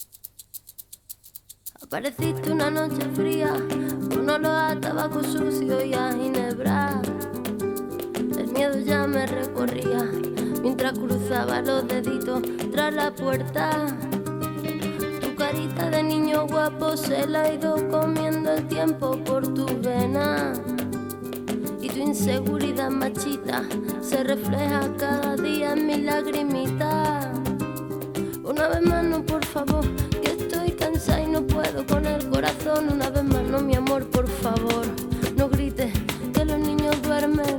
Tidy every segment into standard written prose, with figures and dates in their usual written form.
Apareciste una noche fría, con olor a tabaco sucio y a ginebra. El miedo ya me recorría mientras cruzaba los deditos tras la puerta. Tu carita de niño guapo se la ha ido comiendo el tiempo por tus venas. Y tu inseguridad machita se refleja cada día en mis lagrimitas. Una vez más no, por favor, que estoy cansada y no puedo con el corazón. Una vez más no, mi amor, por favor, no grites que los niños duermen.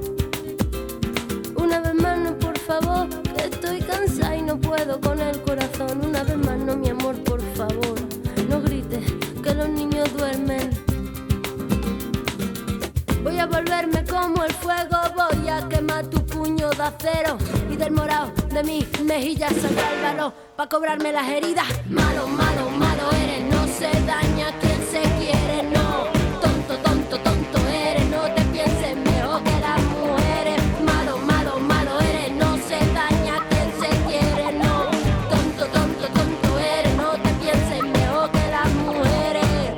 Una vez más no, por favor, que estoy cansada y no puedo con el corazón. Una vez más no, mi amor, por favor, no grites que los niños duermen. Voy a volverme como el fuego, voy a quemar tu puño de acero y del morado de mis mejillas saldrá el valor pa' cobrarme las heridas. Malo, malo, malo eres, no se daña quien se quiere, no. Tonto, tonto, tonto eres, no te pienses mejor que las mujeres. Malo, malo, malo eres, no se daña quien se quiere, no. Tonto, tonto, tonto eres, no te pienses mejor que las mujeres.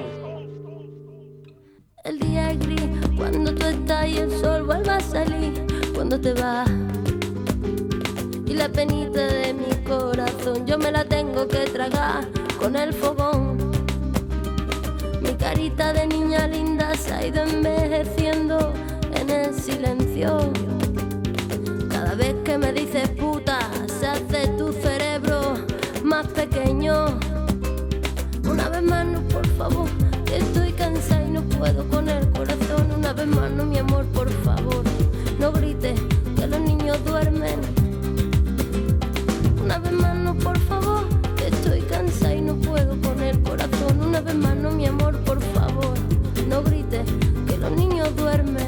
El día es gris cuando tú estás y el sol vuelve a salir cuando te vas. Y la penita de mi corazón yo me la tengo que tragar con el fogón. Mi carita de niña linda se ha ido envejeciendo en el silencio. Cada vez que me dices puta se hace tu cerebro más pequeño. Una vez más no, por favor, que estoy cansada y no puedo con el corazón. Una vez más no, mi amor, por favor, no grites que los niños duermen. Una vez más no, por favor, que estoy cansada y no puedo con el corazón. Una vez más no, mi amor, por favor, no grites que los niños duermen.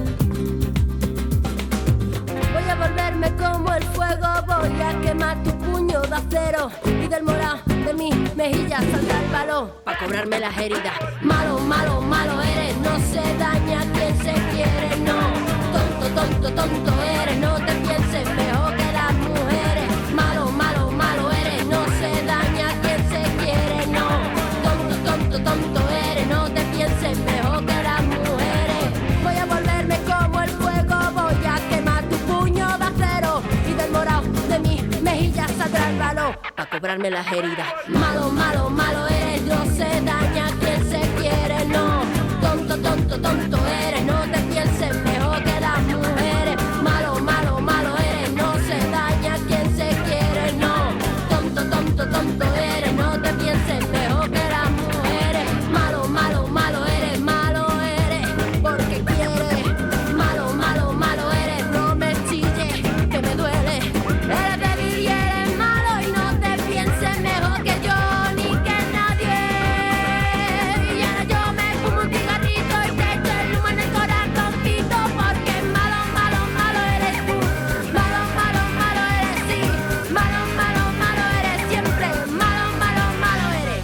Voy a volverme como el fuego, voy a quemar tu puño de acero y del morado de mis mejillas saldrá el valor pa' cobrarme las heridas. Malo, malo, malo eres, no se daña quien se quiere, no. Tonto, tonto, tonto eres, no te pienses mejor que las mujeres. Malo, malo, malo eres, no se daña quien se quiere, no. Tonto, tonto, tonto eres, no te pienses mejor que las mujeres. Voy a volverme como el fuego, voy a quemar tu puño de acero y del morado de mis mejillas saldrá el valor pa' cobrarme las heridas. Malo, malo, malo eres, no se daña quien se quiere, no. Tonto, tonto, tonto eres, no te pienses mejor que las mujeres. Malo, malo, malo eres, no se daña quien se quiere, no. Tonto, tonto, tonto eres, no te pienses mejor que las mujeres. Malo, malo, malo eres, porque quieres. Malo, malo, malo eres, no me chilles, que me duele. Eres débil y eres malo y no te pienses mejor que yo ni que nadie. Y ahora yo me fumo un cigarrito y te echo el humo en el corazoncito, porque malo, malo, malo eres tú. Malo, malo, malo eres sí. Malo, malo, malo eres siempre. Malo, malo, malo eres.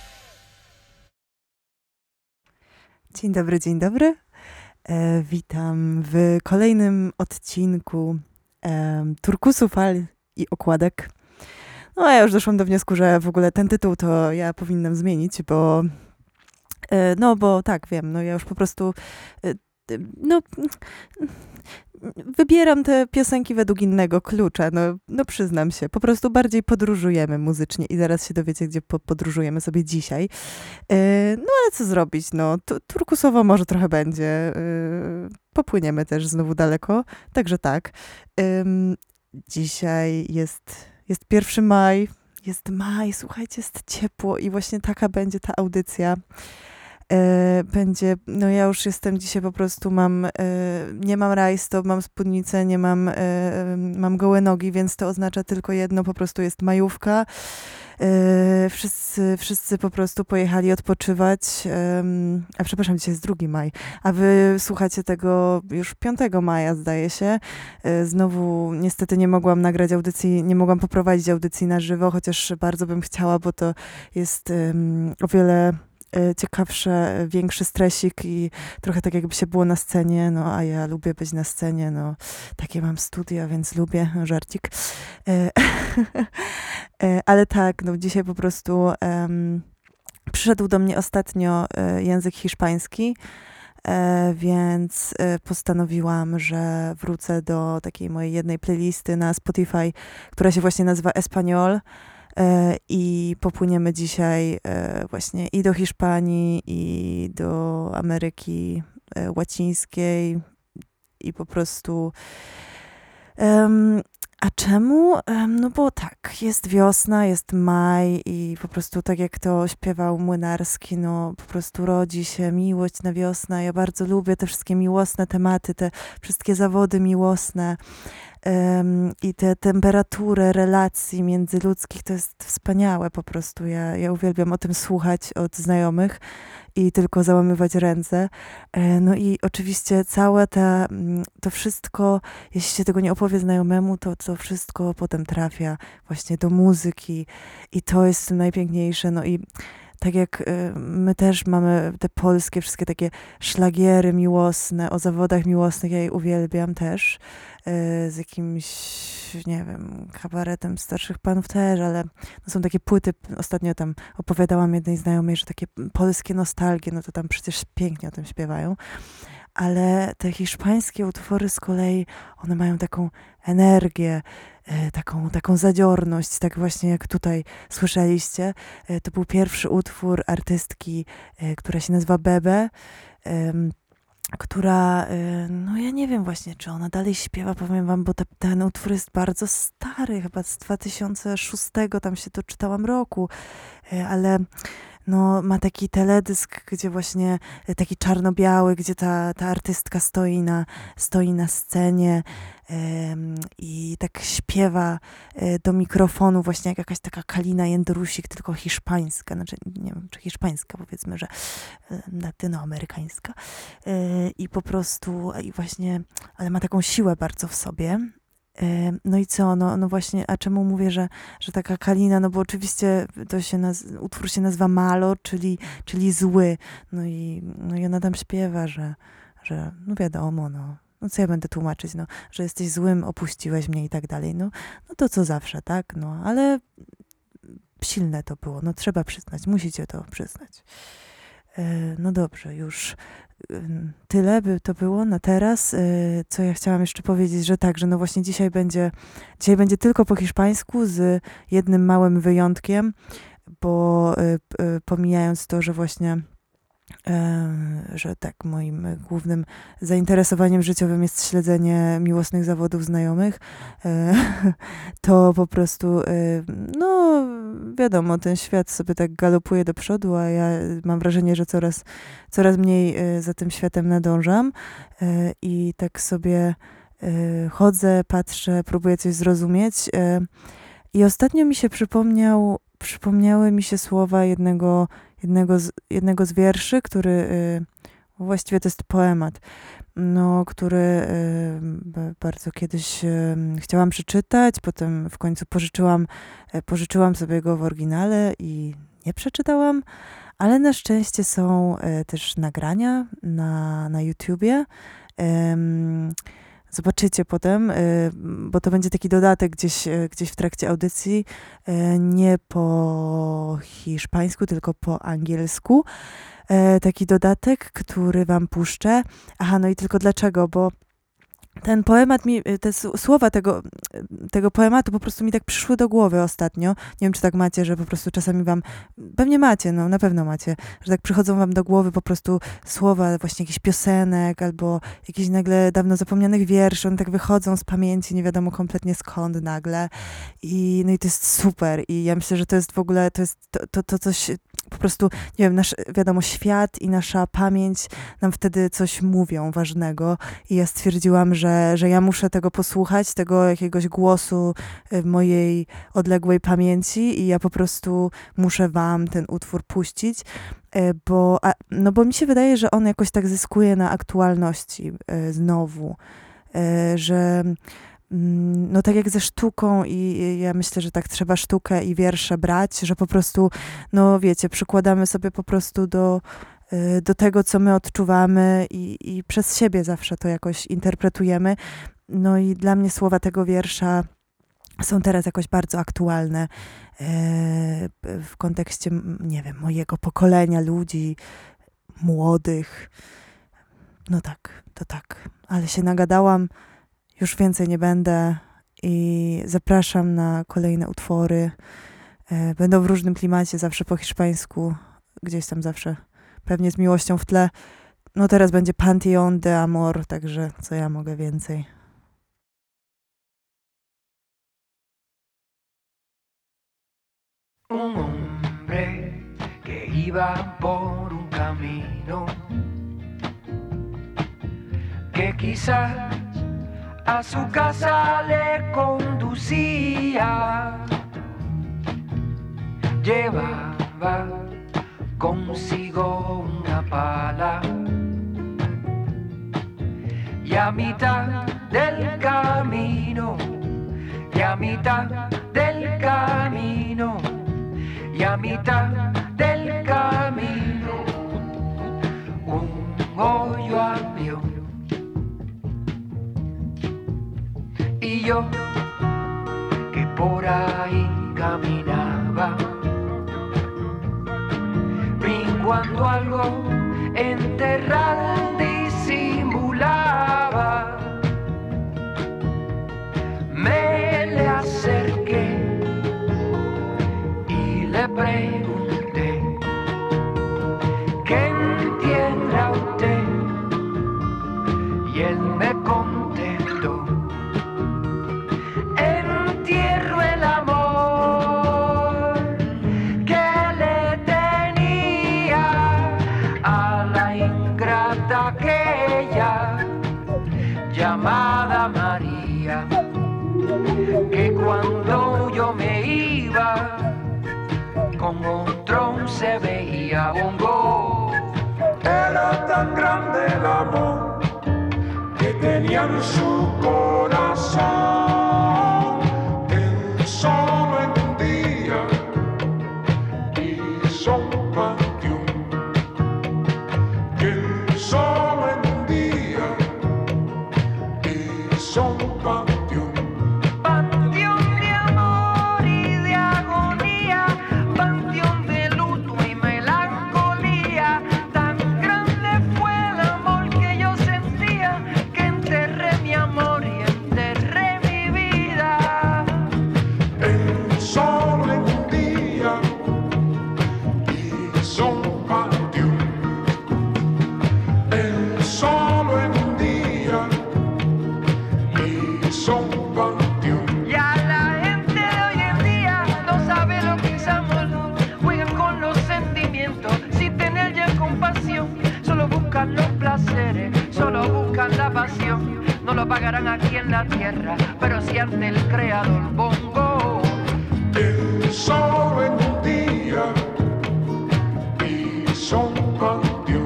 Dzień dobry, dzień dobry. Witam w kolejnym odcinku Turkusu, Fal i Okładek. No ja już doszłam do wniosku, że w ogóle ten tytuł to ja powinnam zmienić, bo no bo tak, wiem, no ja już po prostu no wybieram te piosenki według innego klucza, no przyznam się, po prostu bardziej podróżujemy muzycznie i zaraz się dowiecie, gdzie podróżujemy sobie dzisiaj. No ale co zrobić, no turkusowo może trochę będzie, popłyniemy też znowu daleko, także tak. Dzisiaj jest 1 maj, słuchajcie, jest ciepło i właśnie taka będzie ta audycja. Będzie, no ja już jestem dzisiaj po prostu nie mam rajstop, mam spódnicę, nie mam gołe nogi, więc to oznacza tylko jedno, po prostu jest majówka. Wszyscy po prostu pojechali odpoczywać, a przepraszam, dzisiaj jest 2 maj, a wy słuchacie tego już 5 maja, zdaje się. Znowu niestety nie mogłam nagrać audycji, nie mogłam poprowadzić audycji na żywo, chociaż bardzo bym chciała, bo to jest o wiele ciekawsze, większy stresik i trochę tak jakby się było na scenie, no a ja lubię być na scenie, no takie mam studia, więc lubię, żarcik. Ale tak, no dzisiaj po prostu przyszedł do mnie ostatnio język hiszpański, więc postanowiłam, że wrócę do takiej mojej jednej playlisty na Spotify, która się właśnie nazywa Espanol, i popłyniemy dzisiaj właśnie i do Hiszpanii, i do Ameryki Łacińskiej i po prostu... A czemu? No bo tak, jest wiosna, jest maj i po prostu tak jak to śpiewał Młynarski, no po prostu rodzi się miłość na wiosnę. Ja bardzo lubię te wszystkie miłosne tematy, te wszystkie zawody miłosne i tę temperaturę relacji międzyludzkich. To jest wspaniałe po prostu. Ja uwielbiam o tym słuchać od znajomych i tylko załamywać ręce. No i oczywiście to wszystko, jeśli się tego nie opowie znajomemu, to wszystko potem trafia właśnie do muzyki i to jest najpiękniejsze. No i tak jak my też mamy te polskie wszystkie takie szlagiery miłosne, o zawodach miłosnych, ja je uwielbiam też, z jakimś, nie wiem, kabaretem starszych panów też, ale no są takie płyty, ostatnio tam opowiadałam jednej znajomej, że takie polskie nostalgie, no to tam przecież pięknie o tym śpiewają, ale te hiszpańskie utwory z kolei, one mają taką energię, taką zadziorność, tak właśnie jak tutaj słyszeliście. To był pierwszy utwór artystki, która się nazywa Bebe, która, no ja nie wiem właśnie, czy ona dalej śpiewa, powiem wam, bo ten utwór jest bardzo stary, chyba z 2006, tam się doczytałam roku, ale no, ma taki teledysk, gdzie właśnie taki czarno-biały, gdzie ta artystka stoi na scenie i tak śpiewa do mikrofonu właśnie jak jakaś taka Kalina Jędrusik, tylko hiszpańska, znaczy nie wiem, czy hiszpańska, powiedzmy, że latynoamerykańska i po prostu i właśnie, ale ma taką siłę bardzo w sobie. No i co, no właśnie, a czemu mówię, że taka Kalina, no bo oczywiście utwór się nazywa Malo, czyli zły, no i ona tam śpiewa, że no wiadomo, no co ja będę tłumaczyć, no, że jesteś złym, opuściłeś mnie i tak dalej, no to co zawsze, tak, no, ale silne to było, no trzeba przyznać, musicie to przyznać. No dobrze, już tyle by to było na teraz. Co ja chciałam jeszcze powiedzieć, że tak, że no właśnie dzisiaj będzie tylko po hiszpańsku z jednym małym wyjątkiem, bo pomijając to, że właśnie że tak, moim głównym zainteresowaniem życiowym jest śledzenie miłosnych zawodów znajomych, to po prostu, no wiadomo, ten świat sobie tak galopuje do przodu, a ja mam wrażenie, że coraz mniej za tym światem nadążam i tak sobie chodzę, patrzę, próbuję coś zrozumieć i ostatnio mi się przypomniały mi się słowa jednego z wierszy, który właściwie to jest poemat, no, który bardzo kiedyś chciałam przeczytać, potem w końcu pożyczyłam sobie go w oryginale i nie przeczytałam, ale na szczęście są też nagrania na YouTubie. Zobaczycie potem, bo to będzie taki dodatek gdzieś w trakcie audycji, nie po hiszpańsku, tylko po angielsku. Taki dodatek, który wam puszczę. Aha, no i tylko dlaczego, bo ten poemat te słowa tego poematu po prostu mi tak przyszły do głowy ostatnio. Nie wiem, czy tak macie, że po prostu czasami wam, pewnie macie, no na pewno macie, że tak przychodzą wam do głowy po prostu słowa właśnie jakichś piosenek albo jakichś nagle dawno zapomnianych wierszy, one tak wychodzą z pamięci, nie wiadomo kompletnie skąd nagle. No i to jest super i ja myślę, że to jest w ogóle, to jest to coś, po prostu, nie wiem, wiadomo, świat i nasza pamięć nam wtedy coś mówią ważnego i ja stwierdziłam, że ja muszę tego posłuchać, tego jakiegoś głosu mojej odległej pamięci i ja po prostu muszę wam ten utwór puścić, bo mi się wydaje, że on jakoś tak zyskuje na aktualności znowu, że no tak jak ze sztuką i ja myślę, że tak trzeba sztukę i wiersze brać, że po prostu, no wiecie, przykładamy sobie po prostu do tego, co my odczuwamy i przez siebie zawsze to jakoś interpretujemy. No i dla mnie słowa tego wiersza są teraz jakoś bardzo aktualne w kontekście, nie wiem, mojego pokolenia ludzi, młodych. No tak, to tak. Ale się nagadałam, już więcej nie będę i zapraszam na kolejne utwory. Będą w różnym klimacie, zawsze po hiszpańsku, gdzieś tam zawsze, pewnie z miłością w tle. No teraz będzie Panteón de Amor, także co ja mogę więcej. Un hombre que iba por un camino que quizás a su casa le conducía. Llevaba consigo una pala y a mitad del camino, y a mitad del camino, y a mitad del camino un hoyo abrió. Y yo que por ahí caminaba, vi cuando algo enterrado disimulaba. Me le acerqué y le pregunté: ¿qué entienda usted? Y él me contestó: entierro el amor que le tenía a la ingrata aquella llamada María, que cuando yo me iba con otro se veía bongo. Era tan grande el amor que tenía en su corazón, que solo en un día hizo un panteón, que solo en un día hizo un panteón. Panteón de amor y de agonía, panteón de luto y melancolía. Tan grande fue el amor que yo sentía, que enterré mi amor y enterré mi vida. Solo en un día hizo un panteón. Solo en un día hizo un panteón. Ya la gente de hoy en día no sabe lo que es amor, juegan con los sentimientos sin tener ya compasión. Solo buscan los placeres, solo buscan la pasión. No lo pagarán aquí en la tierra, pero si ante el creador bongo. Solo en un día hizo un panteón.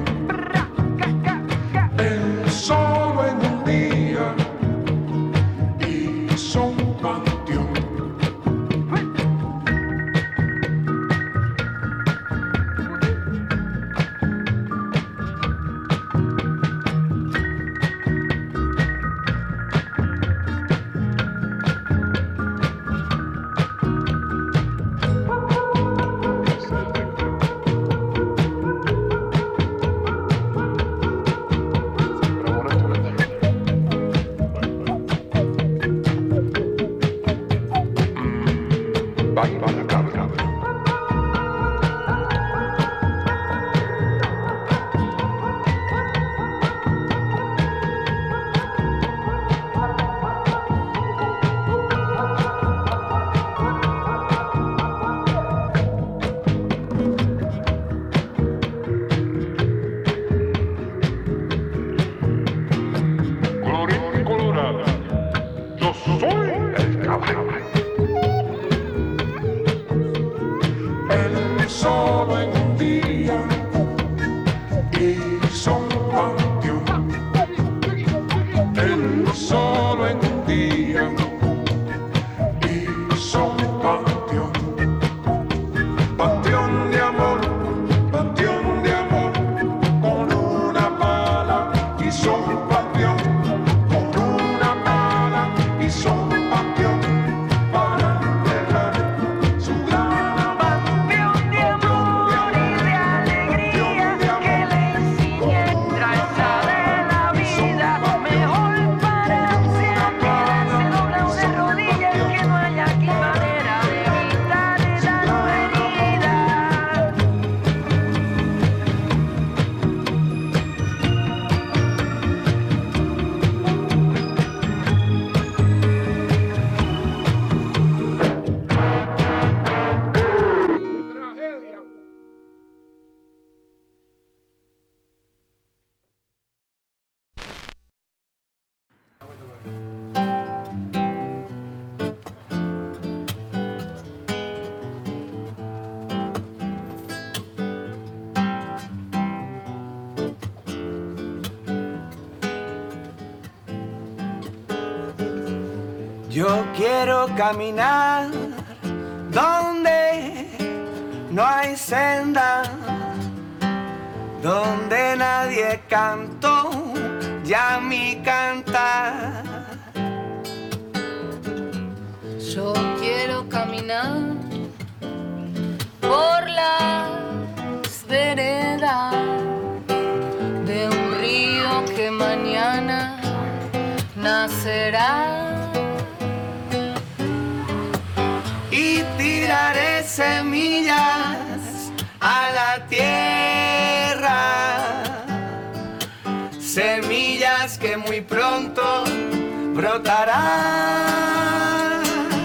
Solo en un día hizo un panteón. Colorín colorado, yo soy el caballo. Él solo en un día hizo un panteón. Él solo en un día hizo un panteón. Panteón de amor, con una pala hizo un panteón. Con una pala hizo un panteón. Yo quiero caminar donde no hay senda, donde nadie cantó ya mi cantar. Yo quiero caminar por las veredas de un río que mañana nacerá. Y tiraré semillas a la tierra, semillas que muy pronto brotarán.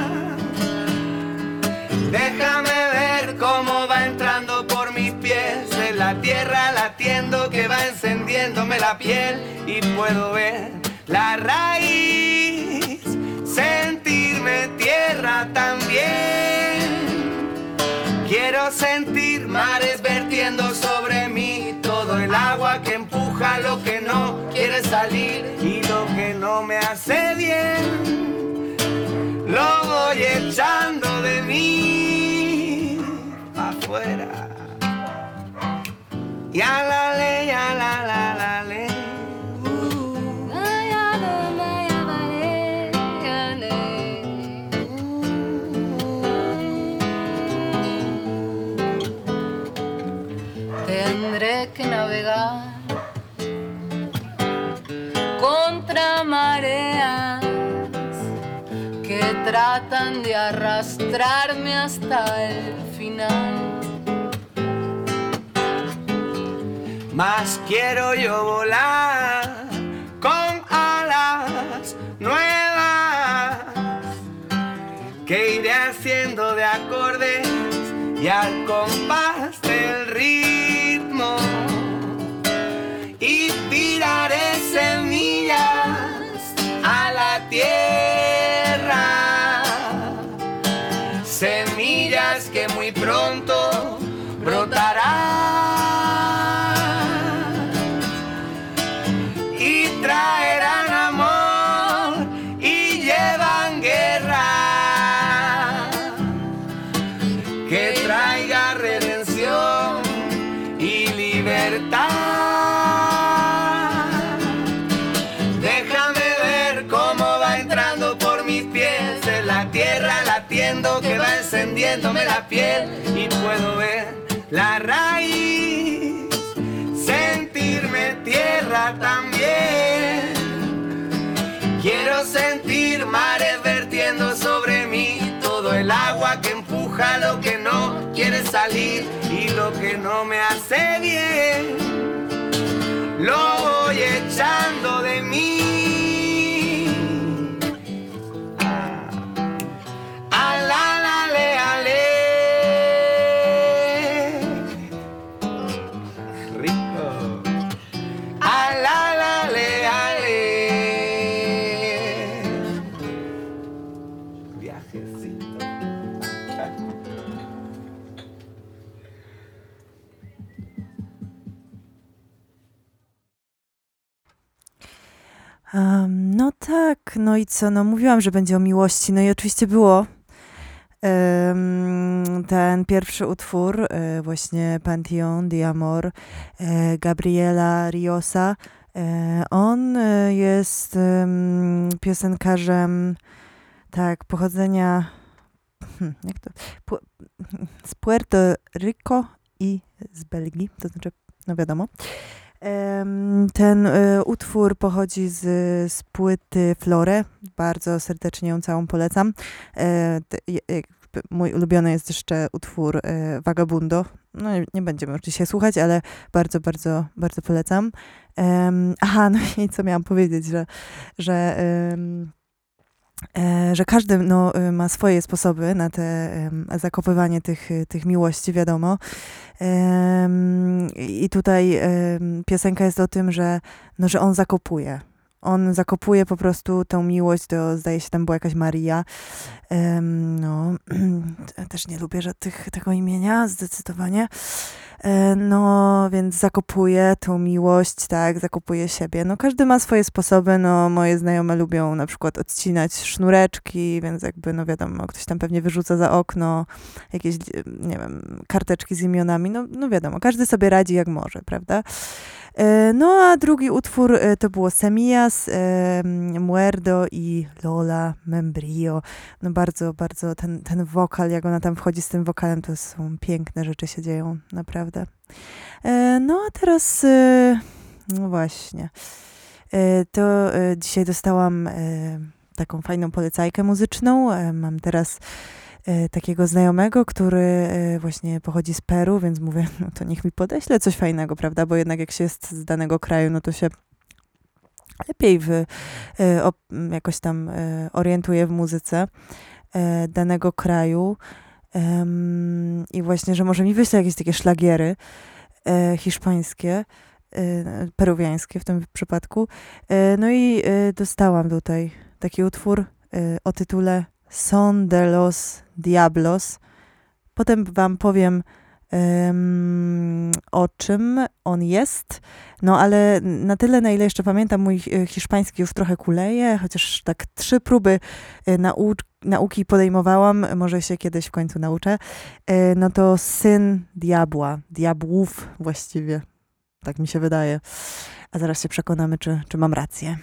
Déjame ver cómo va entrando por mis pies en la tierra, latiendo que va encendiéndome la piel, y puedo ver la raíz, sentirme tierra también. Quiero sentir mares vertiendo sobre mí, todo el agua que empuja lo que no quiere salir y lo que no me hace bien, lo voy echando de mí afuera. Y a la ley, a la ley. Tendré que navegar contra mareas que tratan de arrastrarme hasta el final. Más quiero yo volar con alas nuevas que iré haciendo de acordes y al compás del ritmo, y tiraré semillas a la tierra, semillas que muy pronto brotarán y traerán amor y llevan guerra que traiga redención y libertad. Déjame ver cómo va entrando por mis pies en la tierra, latiendo que va encendiéndome la piel, y puedo ver la raíz, sentirme tierra también. Quiero sentir mares vertiendo sobre mí, todo el agua que empuja lo que no quiere salir y lo que no me hace bien, lo voy echando de mí. A la le, ale. Rico. A la le, ale. Viajecito. No tak, no i co, no mówiłam, że będzie o miłości, no i oczywiście było. Ten pierwszy utwór, właśnie Panteón de Amor, Gabriela Riosa, on jest piosenkarzem, tak, pochodzenia jak to, z Puerto Rico i z Belgii, to znaczy, no wiadomo. Ten utwór pochodzi z płyty Flore. Bardzo serdecznie ją całą polecam. Mój ulubiony jest jeszcze utwór Vagabundo. No nie będziemy już dzisiaj słuchać, ale bardzo, bardzo, bardzo polecam. Aha, no i co miałam powiedzieć, że każdy no, ma swoje sposoby na te zakopywanie tych miłości, wiadomo. I tutaj piosenka jest o tym, że on zakopuje. On zakopuje po prostu tą miłość, to zdaje się tam była jakaś Maria. No, też nie lubię tego imienia, zdecydowanie. No, więc zakopuje tą miłość, tak, zakopuje siebie. No, każdy ma swoje sposoby, no, moje znajome lubią na przykład odcinać sznureczki, więc jakby, no wiadomo, ktoś tam pewnie wyrzuca za okno jakieś, nie wiem, karteczki z imionami, no wiadomo, każdy sobie radzi jak może, prawda? No, a drugi utwór to było Semillas, Muerdo i Lola Membrillo. No bardzo, bardzo ten wokal, jak ona tam wchodzi z tym wokalem, to są piękne rzeczy się dzieją, naprawdę. No, a teraz, no właśnie, to dzisiaj dostałam taką fajną polecajkę muzyczną. Mam teraz takiego znajomego, który właśnie pochodzi z Peru, więc mówię, no to niech mi podeśle coś fajnego, prawda, bo jednak jak się jest z danego kraju, no to się lepiej jakoś tam orientuje w muzyce danego kraju i właśnie, że może mi wyśle jakieś takie szlagiery hiszpańskie, peruwiańskie w tym przypadku. No i dostałam tutaj taki utwór o tytule Son de los Diablos. Potem wam powiem, o czym on jest. No ale na tyle, na ile jeszcze pamiętam, mój hiszpański już trochę kuleje, chociaż tak 3 próby nauki podejmowałam, może się kiedyś w końcu nauczę. No to Syn Diabła, diabłów właściwie. Tak mi się wydaje. A zaraz się przekonamy, czy mam rację.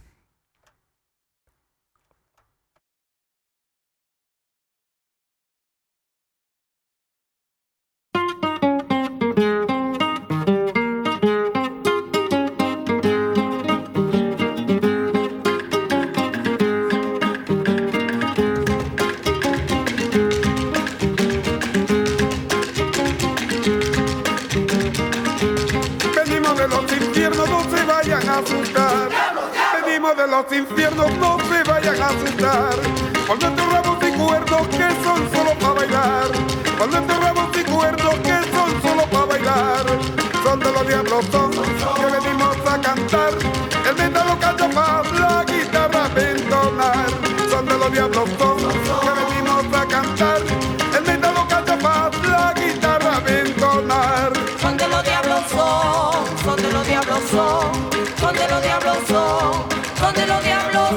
Venimos de los infiernos, no se vayan a asustar. Cuando estos ramos y cuernos que son solo para bailar. Cuando estos ramos y cuernos que son solo para bailar. Son de los diablos, son que venimos a cantar. El metal lo canta para la guitarra a entonar. Son de los diablos, son que venimos a cantar. El metal lo canta para la guitarra a entonar. Son de los diablos, son de los diablos, son de los diablos, son de los diablos,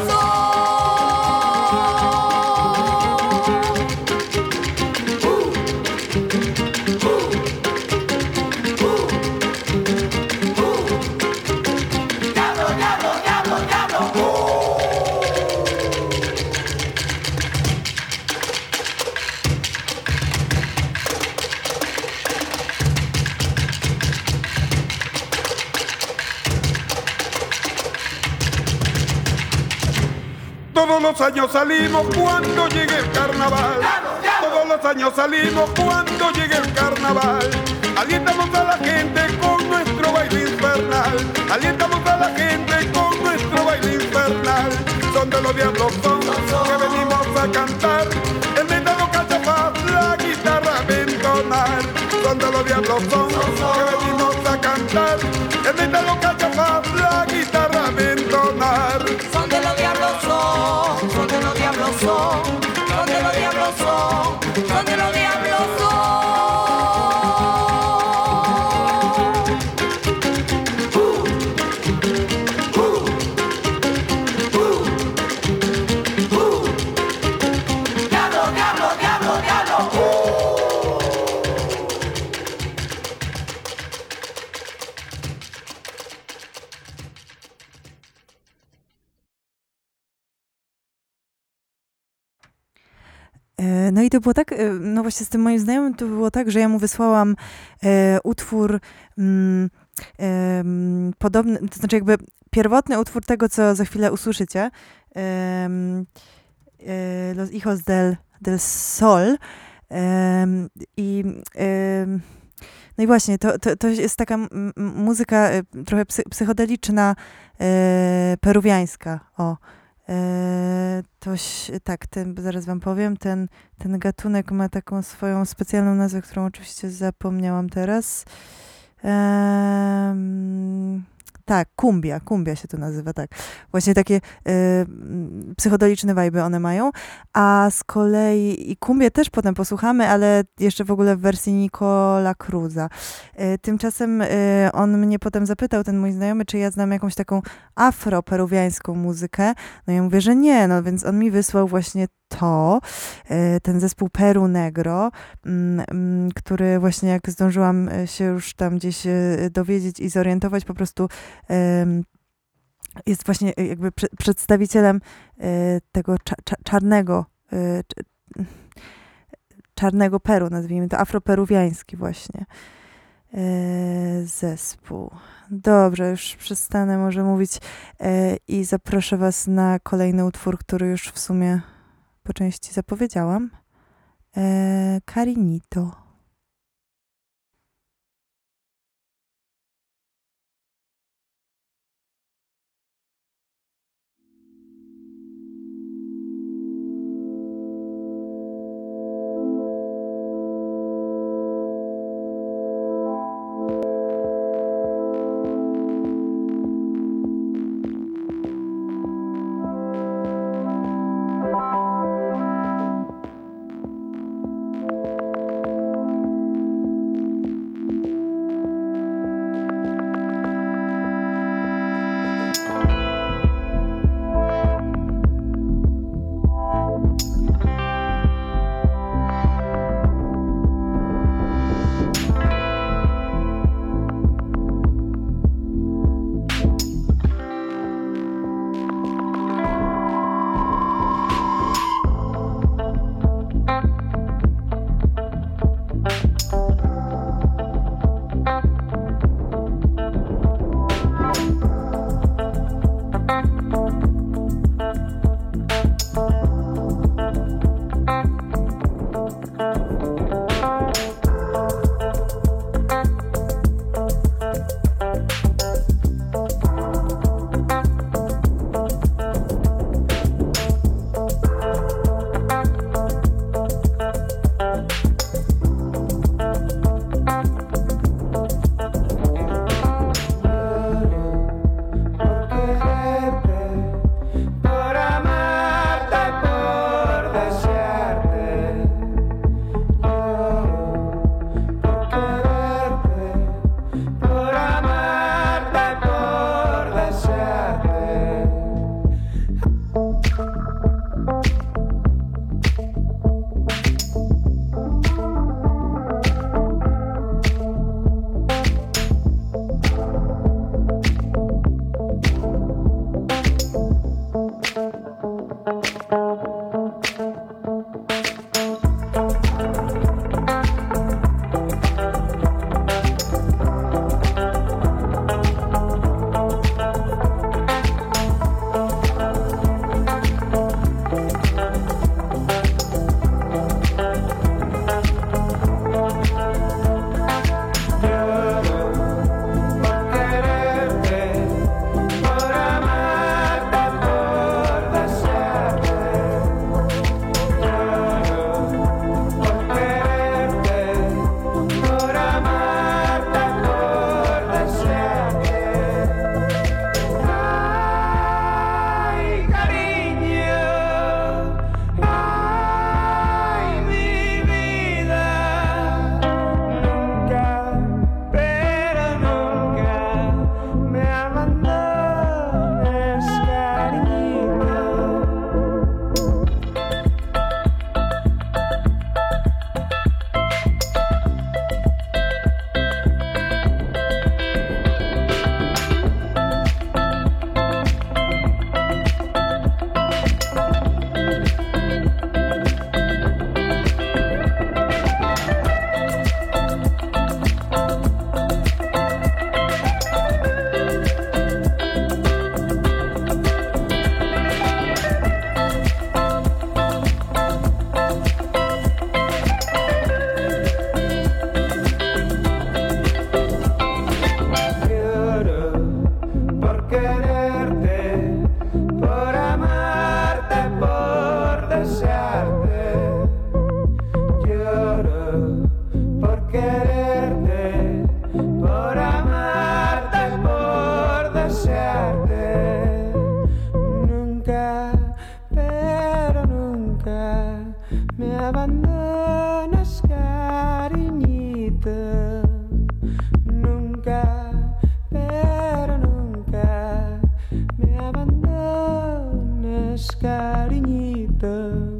Diablo, diablo, diablo, diablo. Todos los años salimos cuando llegue el carnaval. Todos los años salimos cuando llegue el carnaval. Alientamos a la gente con nuestro baile infernal. Alientamos a la gente con nuestro baile infernal. Son de los diablos, son que venimos a cantar. El metal lo canta para la guitarra a entonar. Son de los diablos, son que venimos a cantar. El metal lo canta para la guitarra a entonar. Son de los diablos, son de los diablos, son de los diablos, son de los diablos, Diablo, diablo, diablo, diablo. No i to było tak, no właśnie z tym moim znajomym to było tak, że ja mu wysłałam utwór podobny, to znaczy jakby pierwotny utwór tego, co za chwilę usłyszycie, Los Hijos del Sol. No i właśnie, to jest taka muzyka trochę psychodeliczna, peruwiańska, o. Tak, zaraz wam powiem, ten gatunek ma taką swoją specjalną nazwę, którą oczywiście zapomniałam teraz. Tak, kumbia się to nazywa, tak. Właśnie takie psychodeliczne wajby one mają, a z kolei i kumbię też potem posłuchamy, ale jeszcze w ogóle w wersji Nicola Cruza. Tymczasem on mnie potem zapytał, ten mój znajomy, czy ja znam jakąś taką afro-peruwiańską muzykę. No ja mówię, że nie, no więc on mi wysłał właśnie ten zespół Peru Negro, który właśnie jak zdążyłam się już tam gdzieś dowiedzieć i zorientować, po prostu jest właśnie jakby przedstawicielem tego czarnego Peru, nazwijmy to, afroperuwiański właśnie zespół. Dobrze, już przestanę może mówić i zaproszę was na kolejny utwór, który już w sumie po części zapowiedziałam. Carinito. me abandonas, cariñito. Nunca, pero nunca me abandones, cariñito.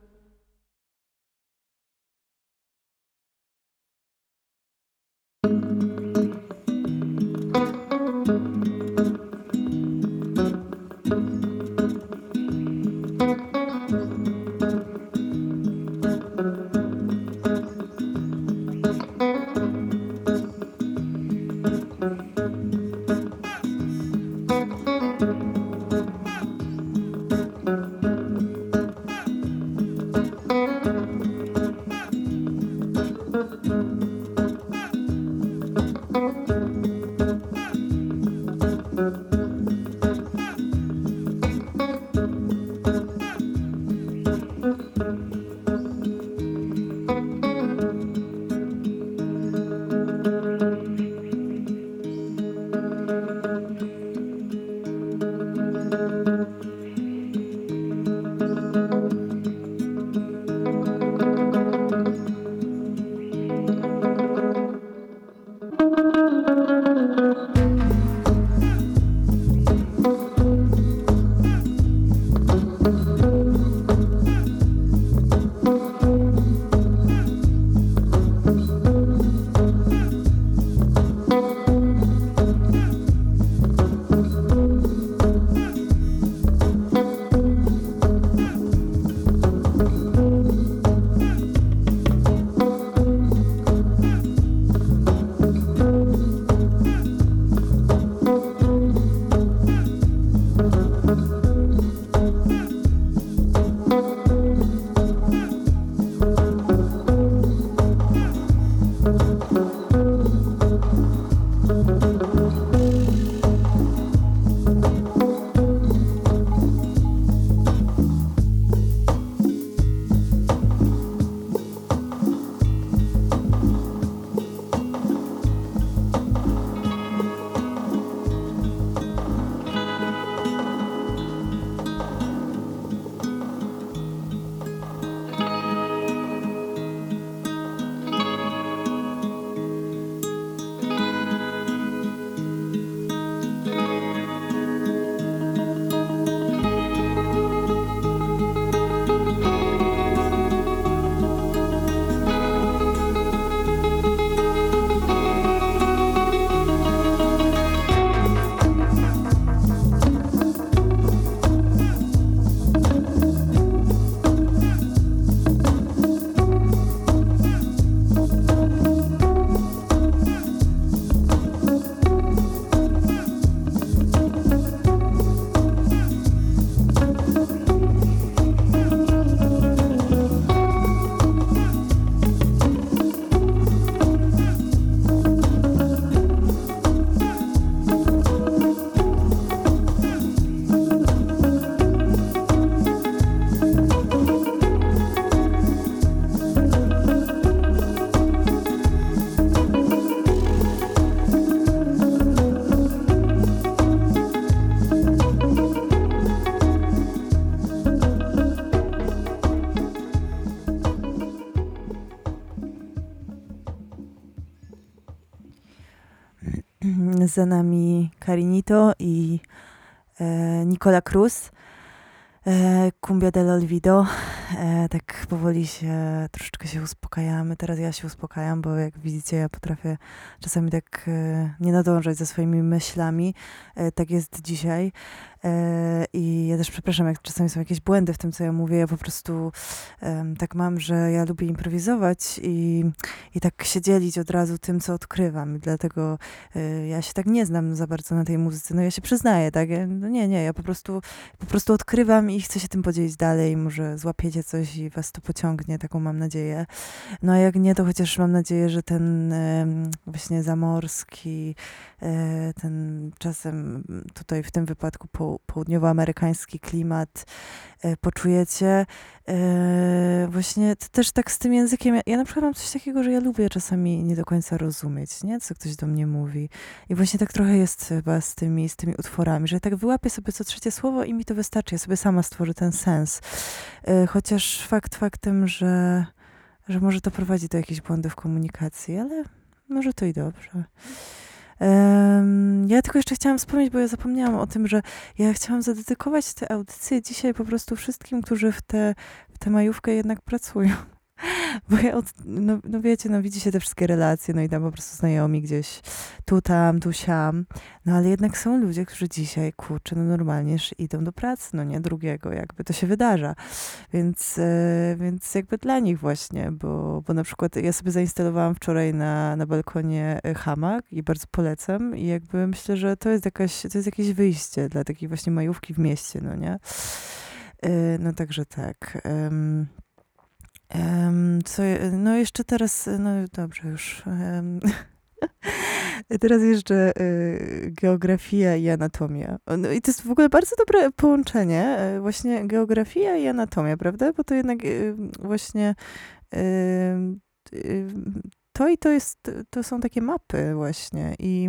Za nami Carinito i Nicola Cruz. Cumbia del Olvido. Tak powoli troszeczkę się uspokajamy. Teraz ja się uspokajam, bo jak widzicie, ja potrafię czasami tak nie nadążać za swoimi myślami. Tak jest dzisiaj. I ja też przepraszam, jak czasami są jakieś błędy w tym, co ja mówię. Ja po prostu tak mam, że ja lubię improwizować i tak się dzielić od razu tym, co odkrywam. I dlatego ja się tak nie znam za bardzo na tej muzyce. No ja się przyznaję, tak? Ja po prostu odkrywam i chcę się tym podzielić dalej. Może złapiecie coś i was to pociągnie, taką mam nadzieję. No a jak nie, to chociaż mam nadzieję, że ten właśnie zamorski, ten czasem tutaj w tym wypadku południowoamerykański klimat poczujecie. Właśnie też tak z tym językiem. Ja na przykład mam coś takiego, że ja lubię czasami nie do końca rozumieć, nie? Co ktoś do mnie mówi. I właśnie tak trochę jest chyba z tymi utworami, że tak wyłapię sobie co trzecie słowo i mi to wystarczy. Ja sobie sama stworzę ten sens. chociaż fakt faktem, że może to prowadzi do jakichś błędów komunikacji, ale może to i dobrze. Ja tylko jeszcze chciałam wspomnieć, bo ja zapomniałam o tym, że ja chciałam zadedykować tę audycję dzisiaj po prostu wszystkim, którzy w tę majówkę jednak pracują. Bo ja, no wiecie, no widzi się te wszystkie relacje, no i tam po prostu znajomi gdzieś tu, tam, tu, siam. No ale jednak są ludzie, którzy dzisiaj, kurczę, no normalnie idą do pracy, no nie drugiego, jakby to się wydarza. Więc jakby dla nich właśnie, bo na przykład ja sobie zainstalowałam wczoraj na balkonie hamak i bardzo polecam i jakby myślę, że to jest jakieś wyjście dla takiej właśnie majówki w mieście, no nie? No także tak. No jeszcze teraz, no dobrze już. Teraz jeszcze geografia i anatomia. No i to jest w ogóle bardzo dobre połączenie, właśnie geografia i anatomia, prawda? Bo to jednak właśnie to są takie mapy właśnie i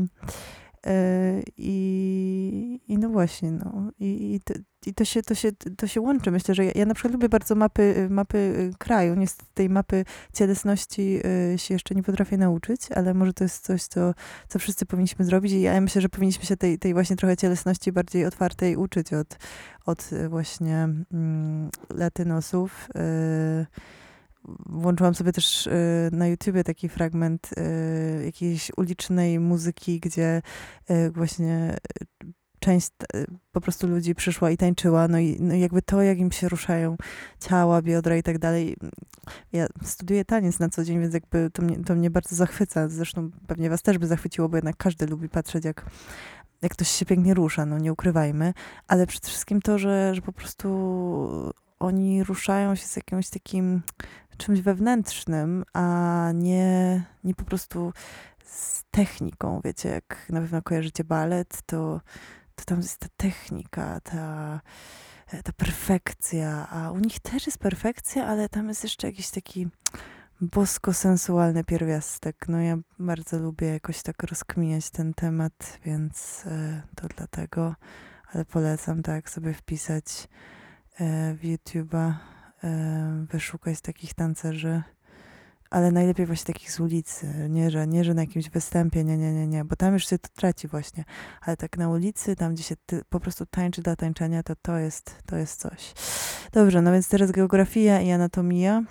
no właśnie, no. I to się łączy. Myślę, że ja na przykład lubię bardzo mapy kraju. Niestety tej mapy cielesności się jeszcze nie potrafię nauczyć, ale może to jest coś, co wszyscy powinniśmy zrobić i ja myślę, że powinniśmy się tej właśnie trochę cielesności bardziej otwartej uczyć od właśnie latynosów. Włączyłam sobie też na YouTubie taki fragment jakiejś ulicznej muzyki, gdzie właśnie część po prostu ludzi przyszła i tańczyła, no i jakby to, jak im się ruszają ciała, biodra i tak dalej. Ja studiuję taniec na co dzień, więc jakby to mnie bardzo zachwyca. Zresztą pewnie was też by zachwyciło, bo jednak każdy lubi patrzeć, jak ktoś się pięknie rusza, no nie ukrywajmy, ale przede wszystkim to, że po prostu oni ruszają się z jakimś takim czymś wewnętrznym, a nie po prostu z techniką. Wiecie, jak na pewno kojarzycie balet, to tam jest ta technika, ta perfekcja, a u nich też jest perfekcja, ale tam jest jeszcze jakiś taki bosko-sensualny pierwiastek. No ja bardzo lubię jakoś tak rozkminiać ten temat, więc to dlatego, ale polecam tak sobie wpisać w YouTube'a, wyszukać takich tancerzy, ale najlepiej właśnie takich z ulicy, nie, że na jakimś występie, nie, bo tam już się to traci właśnie, ale tak na ulicy, tam gdzie się po prostu tańczy dla tańczenia, to jest coś. Dobrze, no więc teraz geografia i anatomia.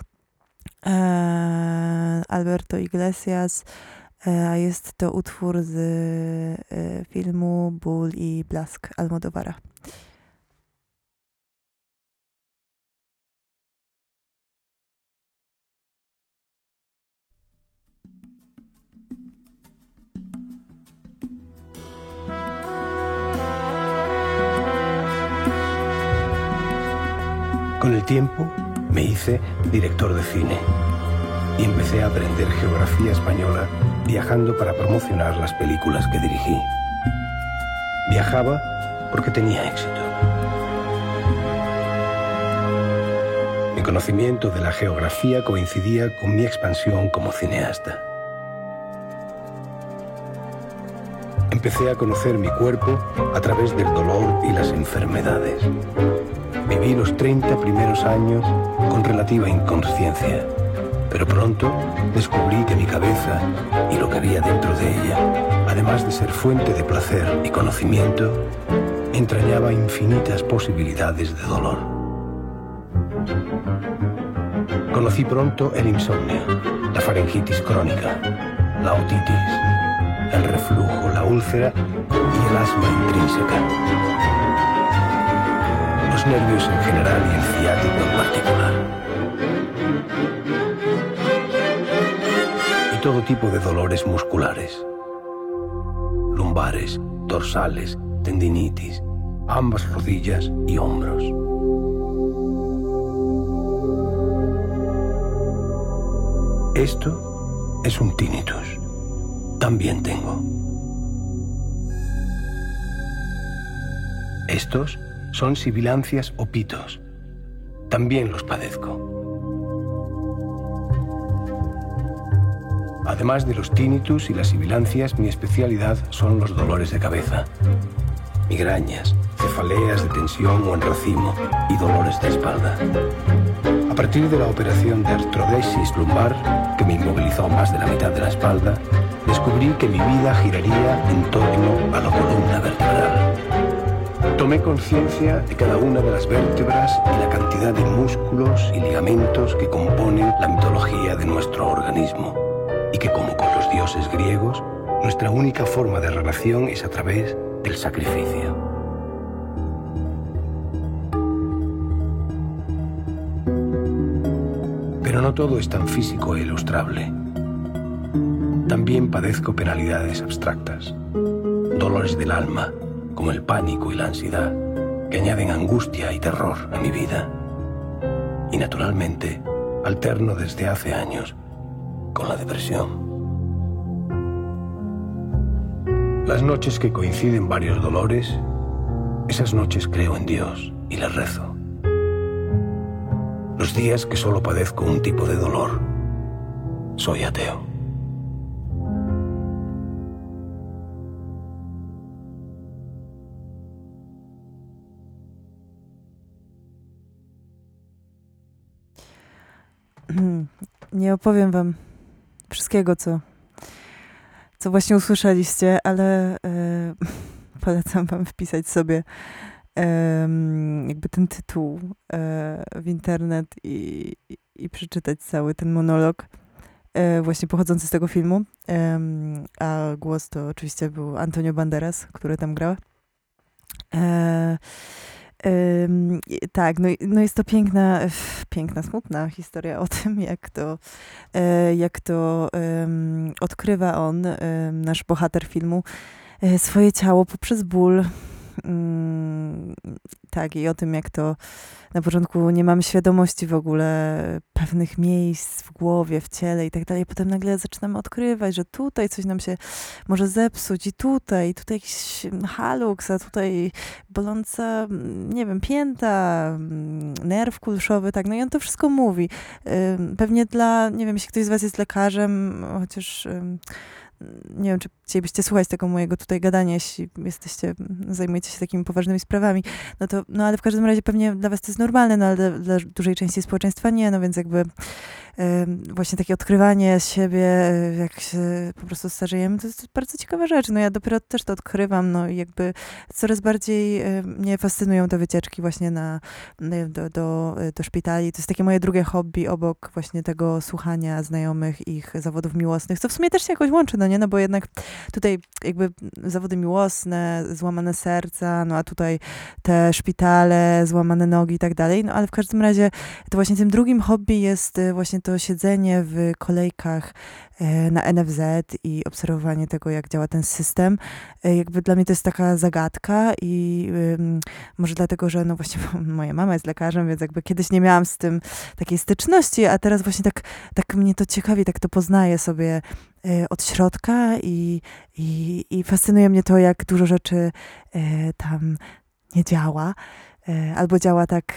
Alberto Iglesias, a jest to utwór z filmu Ból i blask Almodóvara. Con el tiempo me hice director de cine y empecé a aprender geografía española viajando para promocionar las películas que dirigí. Viajaba porque tenía éxito. Mi conocimiento de la geografía coincidía con mi expansión como cineasta. Empecé a conocer mi cuerpo a través del dolor y las enfermedades. Viví los 30 primeros años con relativa inconsciencia, pero pronto descubrí que mi cabeza y lo que había dentro de ella, además de ser fuente de placer y conocimiento, entrañaba infinitas posibilidades de dolor. Conocí pronto el insomnio, la faringitis crónica, la otitis, el reflujo, la úlcera y el asma intrínseca. Los nervios en general y el ciático en particular. Y todo tipo de dolores musculares. Lumbares, dorsales, tendinitis, ambas rodillas y hombros. Esto es un tinnitus. También tengo. Estos son sibilancias o pitos. También los padezco. Además de los tinnitus y las sibilancias, mi especialidad son los dolores de cabeza. Migrañas, cefaleas de tensión o en racimo y dolores de espalda. A partir de la operación de artrodesis lumbar, que me inmovilizó más de la mitad de la espalda, descubrí que mi vida giraría en torno a la columna vertebral. Tomé conciencia de cada una de las vértebras y la cantidad de músculos y ligamentos que componen la mitología de nuestro organismo, y que, como con los dioses griegos, nuestra única forma de relación es a través del sacrificio. Pero no todo es tan físico e ilustrable. También padezco penalidades abstractas, dolores del alma, como el pánico y la ansiedad, que añaden angustia y terror a mi vida. Y naturalmente, alterno desde hace años con la depresión. Las noches que coinciden varios dolores, esas noches creo en Dios y le rezo. Los días que solo padezco un tipo de dolor, soy ateo. Nie opowiem wam wszystkiego, co właśnie usłyszeliście, ale polecam wam wpisać sobie jakby ten tytuł w internet i przeczytać cały ten monolog właśnie pochodzący z tego filmu. A głos to oczywiście był Antonio Banderas, który tam grał. Tak, no jest to piękna, smutna historia o tym, jak to odkrywa on, nasz bohater filmu, swoje ciało poprzez ból. Tak, i o tym, jak to na początku nie mamy świadomości w ogóle pewnych miejsc w głowie, w ciele i tak dalej. Potem nagle zaczynamy odkrywać, że tutaj coś nam się może zepsuć i tutaj jakiś haluks, a tutaj boląca, nie wiem, pięta, nerw kulszowy, tak. No i on to wszystko mówi. Pewnie nie wiem, jeśli ktoś z was jest lekarzem, chociaż nie wiem, czy chcielibyście słuchać tego mojego tutaj gadania, jeśli zajmujecie się takimi poważnymi sprawami, no ale w każdym razie pewnie dla was to jest normalne, no ale dla dużej części społeczeństwa nie, no więc jakby właśnie takie odkrywanie siebie, jak się po prostu starzejemy, to jest bardzo ciekawa rzecz. No ja dopiero też to odkrywam, no i jakby coraz bardziej mnie fascynują te wycieczki właśnie do szpitali. To jest takie moje drugie hobby obok właśnie tego słuchania znajomych ich zawodów miłosnych, co w sumie też się jakoś łączy, no nie? No bo jednak tutaj jakby zawody miłosne, złamane serca, no a tutaj te szpitale, złamane nogi i tak dalej. No ale w każdym razie to właśnie tym drugim hobby jest właśnie to siedzenie w kolejkach na NFZ i obserwowanie tego, jak działa ten system. Jakby dla mnie to jest taka zagadka i może dlatego, że no właśnie moja mama jest lekarzem, więc jakby kiedyś nie miałam z tym takiej styczności, a teraz właśnie tak mnie to ciekawi, tak to poznaję sobie od środka i fascynuje mnie to, jak dużo rzeczy tam nie działa, albo działa tak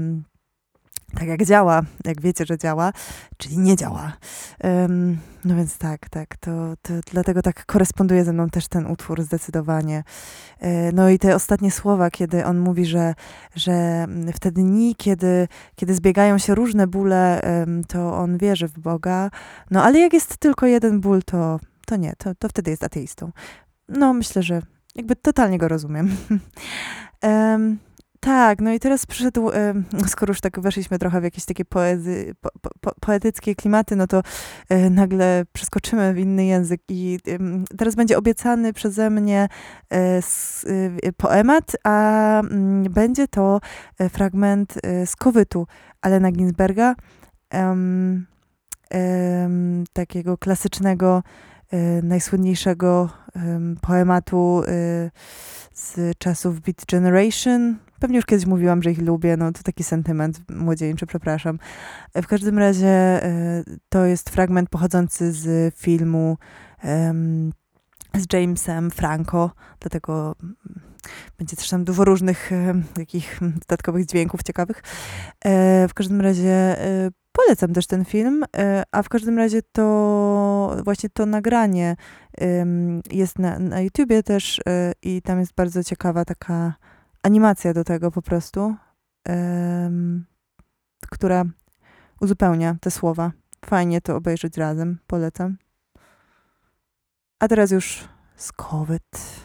jak działa, jak wiecie, że działa, czyli nie działa. No więc tak, to dlatego tak koresponduje ze mną też ten utwór zdecydowanie. No i te ostatnie słowa, kiedy on mówi, że w te dni, kiedy zbiegają się różne bóle, to on wierzy w Boga, no ale jak jest tylko jeden ból, to nie, to wtedy jest ateistą. No myślę, że jakby totalnie go rozumiem. Tak, no i teraz przyszedł, skoro już tak weszliśmy trochę w jakieś takie poetyckie klimaty, no to nagle przeskoczymy w inny język i teraz będzie obiecany przeze mnie poemat, a będzie to fragment z Kowytu Allena Ginsberga, takiego klasycznego, najsłynniejszego poematu z czasów Beat Generation. Pewnie już kiedyś mówiłam, że ich lubię, no to taki sentyment młodzieńczy, przepraszam. W każdym razie to jest fragment pochodzący z filmu z Jamesem Franco, dlatego będzie też tam dużo różnych takich dodatkowych dźwięków ciekawych. W każdym razie polecam też ten film, a w każdym razie to właśnie to nagranie jest na YouTubie też i tam jest bardzo ciekawa taka animacja do tego po prostu, która uzupełnia te słowa. Fajnie to obejrzeć razem, polecam. A teraz już skowyt.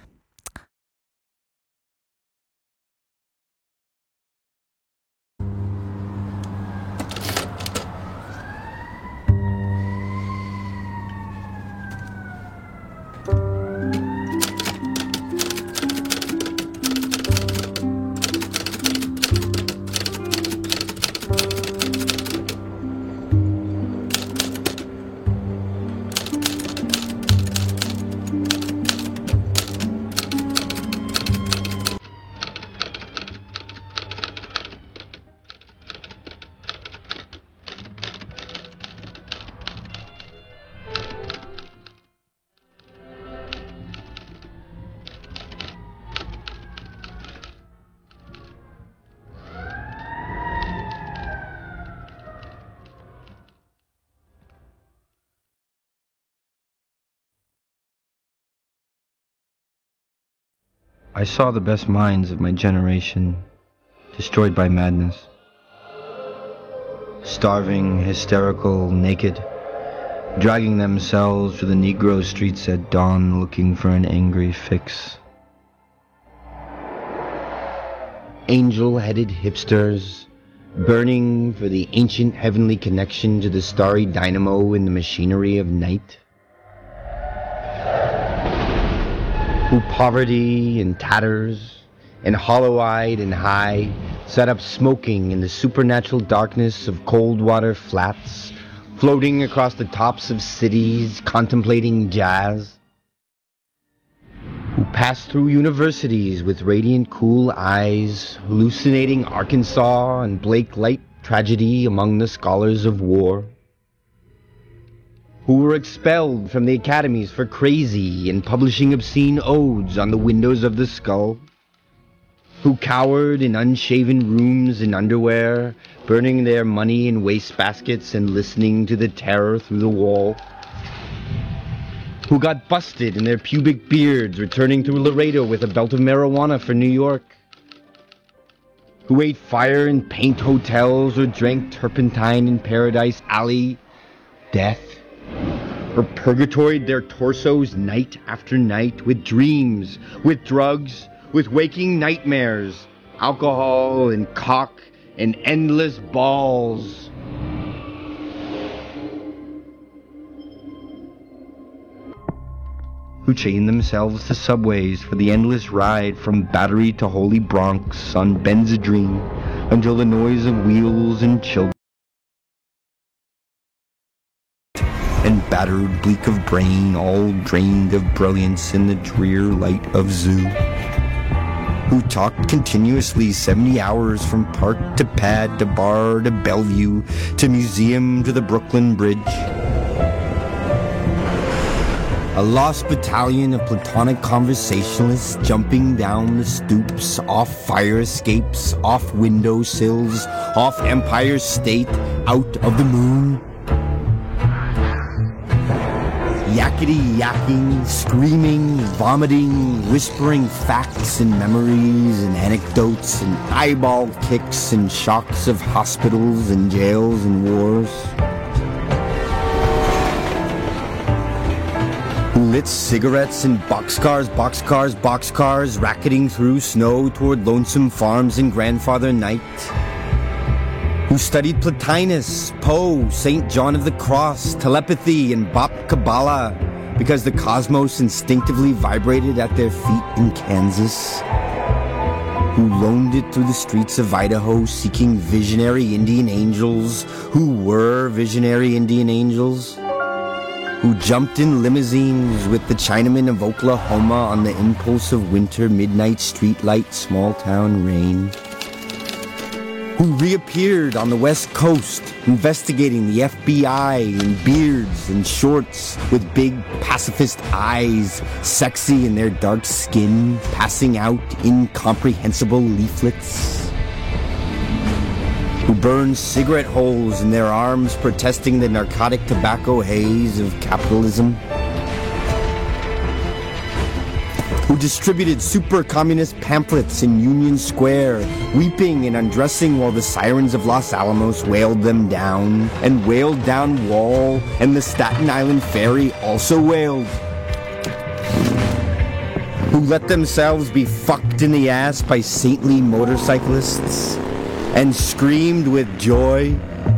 I saw the best minds of my generation destroyed by madness. Starving, hysterical, naked, dragging themselves through the Negro streets at dawn looking for an angry fix. Angel-headed hipsters, burning for the ancient heavenly connection to the starry dynamo in the machinery of night. Who poverty and tatters, and hollow-eyed and high, sat up smoking in the supernatural darkness of cold water flats, floating across the tops of cities, contemplating jazz. Who passed through universities with radiant cool eyes, hallucinating Arkansas and Blake Light tragedy among the scholars of war. Who were expelled from the academies for crazy and publishing obscene odes on the windows of the skull. Who cowered in unshaven rooms in underwear, burning their money in wastebaskets and listening to the terror through the wall. Who got busted in their pubic beards returning through Laredo with a belt of marijuana for New York. Who ate fire in paint hotels or drank turpentine in Paradise Alley. Death. Or purgatoried their torsos night after night with dreams, with drugs, with waking nightmares, alcohol and cock and endless balls. Who chained themselves to subways for the endless ride from Battery to Holy Bronx on Benzedrine until the noise of wheels and children and battered, bleak of brain, all drained of brilliance in the drear light of zoo. Who talked continuously 70 hours from park to pad to bar to Bellevue to museum to the Brooklyn Bridge. A lost battalion of platonic conversationalists jumping down the stoops, off fire escapes, off window sills, off Empire State, out of the moon. Yakety-yakking, screaming, vomiting, whispering facts and memories and anecdotes and eyeball kicks and shocks of hospitals and jails and wars. Who lit cigarettes in boxcars, racketing through snow toward lonesome farms in Grandfather Night. Who studied Plotinus, Poe, St. John of the Cross, telepathy, and Bop Kabbalah because the cosmos instinctively vibrated at their feet in Kansas. Who loaned it through the streets of Idaho seeking visionary Indian angels who were visionary Indian angels. Who jumped in limousines with the Chinamen of Oklahoma on the impulse of winter midnight streetlight small town rain. Who reappeared on the West Coast, investigating the FBI in beards and shorts with big pacifist eyes, sexy in their dark skin, passing out incomprehensible leaflets. Who burned cigarette holes in their arms, protesting the narcotic tobacco haze of capitalism. who distributed super communist pamphlets in Union Square, weeping and undressing while the sirens of Los Alamos wailed them down, and wailed down Wall, and the Staten Island Ferry also wailed. Who let themselves be fucked in the ass by saintly motorcyclists, and screamed with joy.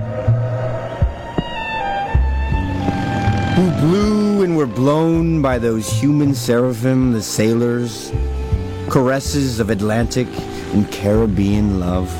Who blew and were blown by those human seraphim, the sailors, caresses of Atlantic and Caribbean love.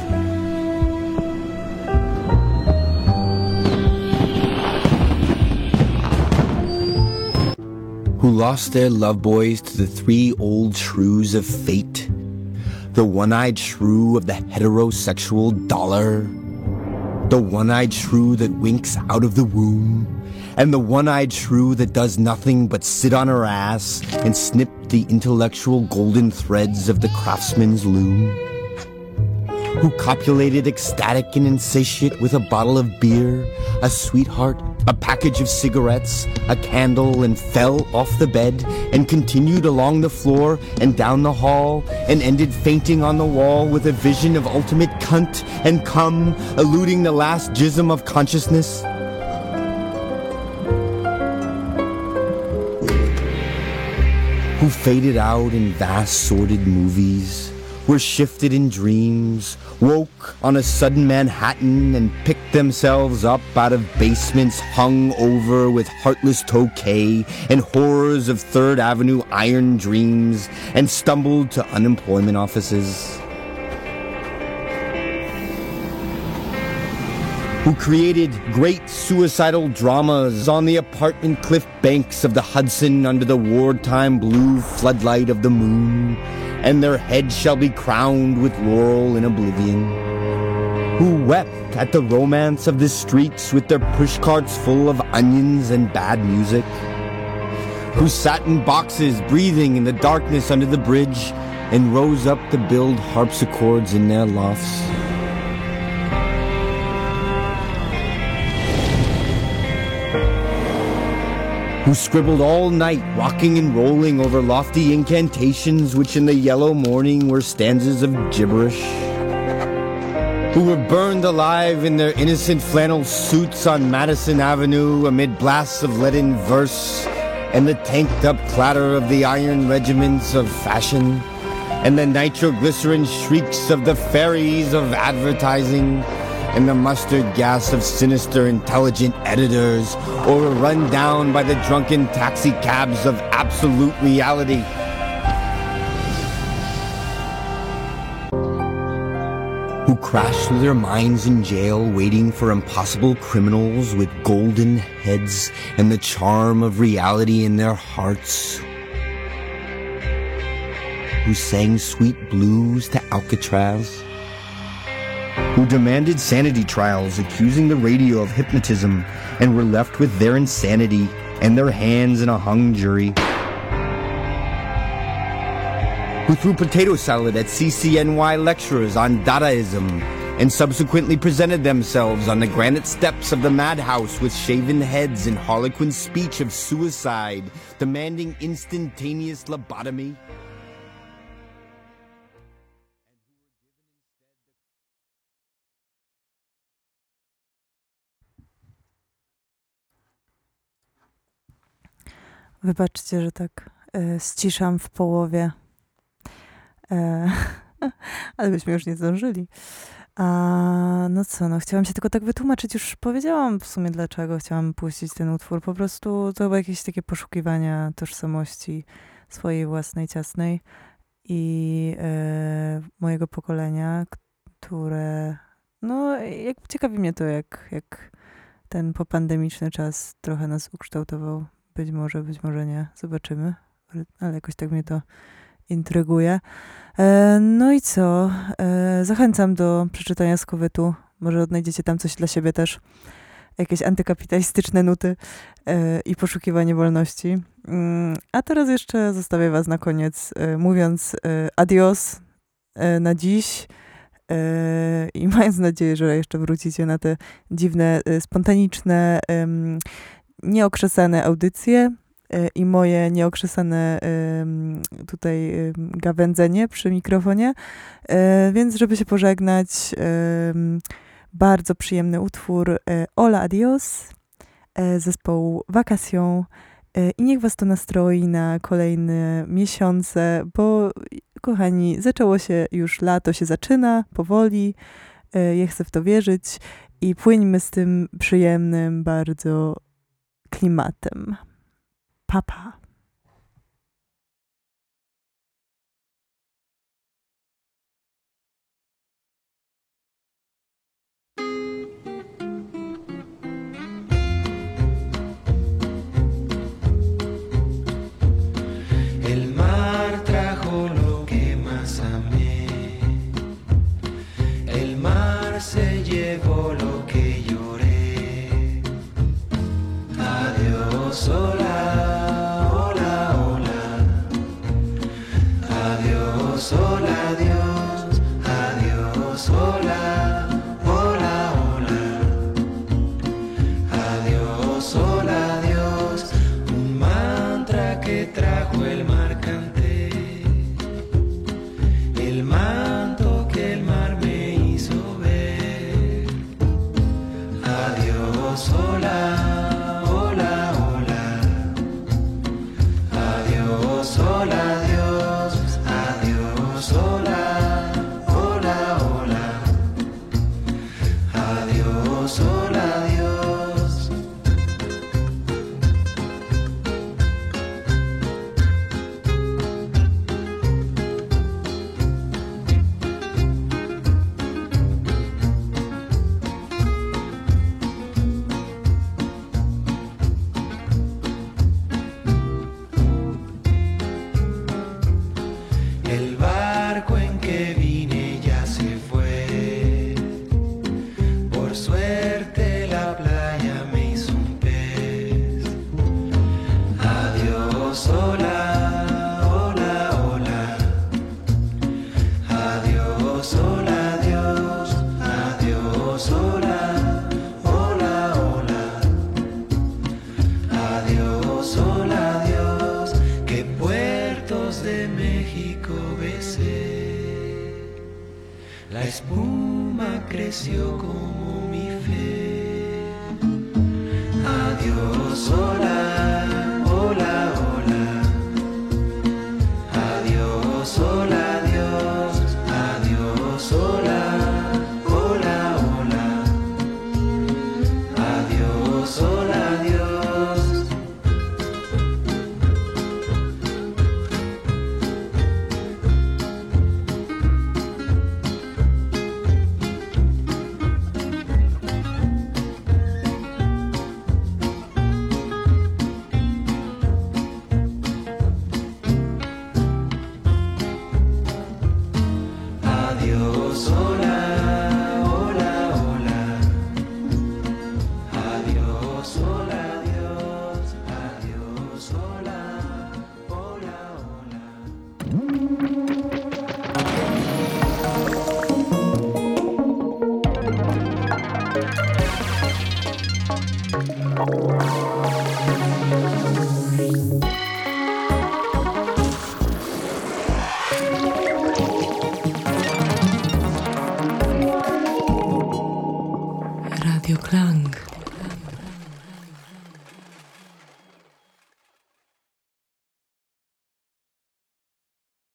Who lost their love boys to the three old shrews of fate, the one-eyed shrew of the heterosexual dollar, the one-eyed shrew that winks out of the womb, and the one-eyed shrew that does nothing but sit on her ass and snip the intellectual golden threads of the craftsman's loom. Who copulated ecstatic and insatiate with a bottle of beer, a sweetheart, a package of cigarettes, a candle, and fell off the bed, and continued along the floor and down the hall, and ended fainting on the wall with a vision of ultimate cunt and cum, eluding the last jism of consciousness. Who faded out in vast sordid movies, were shifted in dreams, woke on a sudden Manhattan, and picked themselves up out of basements hung over with heartless tokay and horrors of Third Avenue iron dreams, and stumbled to unemployment offices. Who created great suicidal dramas on the apartment cliff banks of the Hudson under the wartime blue floodlight of the moon, and their heads shall be crowned with laurel in oblivion. Who wept at the romance of the streets with their pushcarts full of onions and bad music. Who sat in boxes breathing in the darkness under the bridge and rose up to build harpsichords in their lofts. Who scribbled all night, rocking and rolling over lofty incantations which in the yellow morning were stanzas of gibberish. Who were burned alive in their innocent flannel suits on Madison Avenue amid blasts of leaden verse and the tanked-up clatter of the iron regiments of fashion and the nitroglycerin shrieks of the fairies of advertising and the mustard gas of sinister intelligent editors, or were run down by the drunken taxi cabs of absolute reality. Who crashed through their minds in jail waiting for impossible criminals with golden heads and the charm of reality in their hearts. Who sang sweet blues to Alcatraz. Who demanded sanity trials accusing the radio of hypnotism and were left with their insanity and their hands in a hung jury. Who threw potato salad at CCNY lecturers on Dadaism and subsequently presented themselves on the granite steps of the madhouse with shaven heads and harlequin speech of suicide, demanding instantaneous lobotomy. Wybaczcie, że tak ściszam w połowie, ale byśmy już nie zdążyli. No co, no chciałam się tylko tak wytłumaczyć, już powiedziałam w sumie dlaczego chciałam puścić ten utwór. Po prostu to było jakieś takie poszukiwania tożsamości swojej własnej, ciasnej i mojego pokolenia, które, no ciekawi mnie to, jak ten popandemiczny czas trochę nas ukształtował. Być może nie. Zobaczymy. Ale jakoś tak mnie to intryguje. No i co? Zachęcam do przeczytania Skowytu. Może odnajdziecie tam coś dla siebie też. Jakieś antykapitalistyczne nuty i poszukiwanie wolności. A teraz jeszcze zostawię was na koniec, mówiąc adios na dziś i mając nadzieję, że jeszcze wrócicie na te dziwne, spontaniczne, nieokrzesane audycje. i moje nieokrzesane tutaj gawędzenie przy mikrofonie. Więc żeby się pożegnać, bardzo przyjemny utwór Hola Adios zespołu Vacation i niech was to nastroi na kolejne miesiące, bo kochani, zaczęło się już lato, się zaczyna powoli, ja chcę w to wierzyć i płyńmy z tym przyjemnym bardzo klimatem. Pa, pa. El mar trajo lo que más amé, el mar se llevó lo que lloré. Adiós, hola, hola, hola. Adiós, hola, adiós, adiós, hola, hola, hola. Adiós, hola, adiós. Un mantra que trajo el mar canté, el manto que el mar me hizo ver. Adiós, hola, hola, hola. Adiós, hola, adiós, adiós, hola, hola, hola. Adiós, hola, adiós. El barco en que vine ya se fue. Por suerte la playa me hizo un pez. Adiós, hola, hola, hola. Adiós, hola, adiós, adiós, hola, hola, hola. Adiós, hola, adiós. Que puertos de México besé. La espuma creció como mi fe. Adiós, hola, hola, hola. Adiós, hola, adiós, adiós, hola, hola, hola. Adiós, hola, adiós. Adiós, hola, hola, hola. Adiós, hola, adiós, adiós, hola, hola, hola. Radio Klang.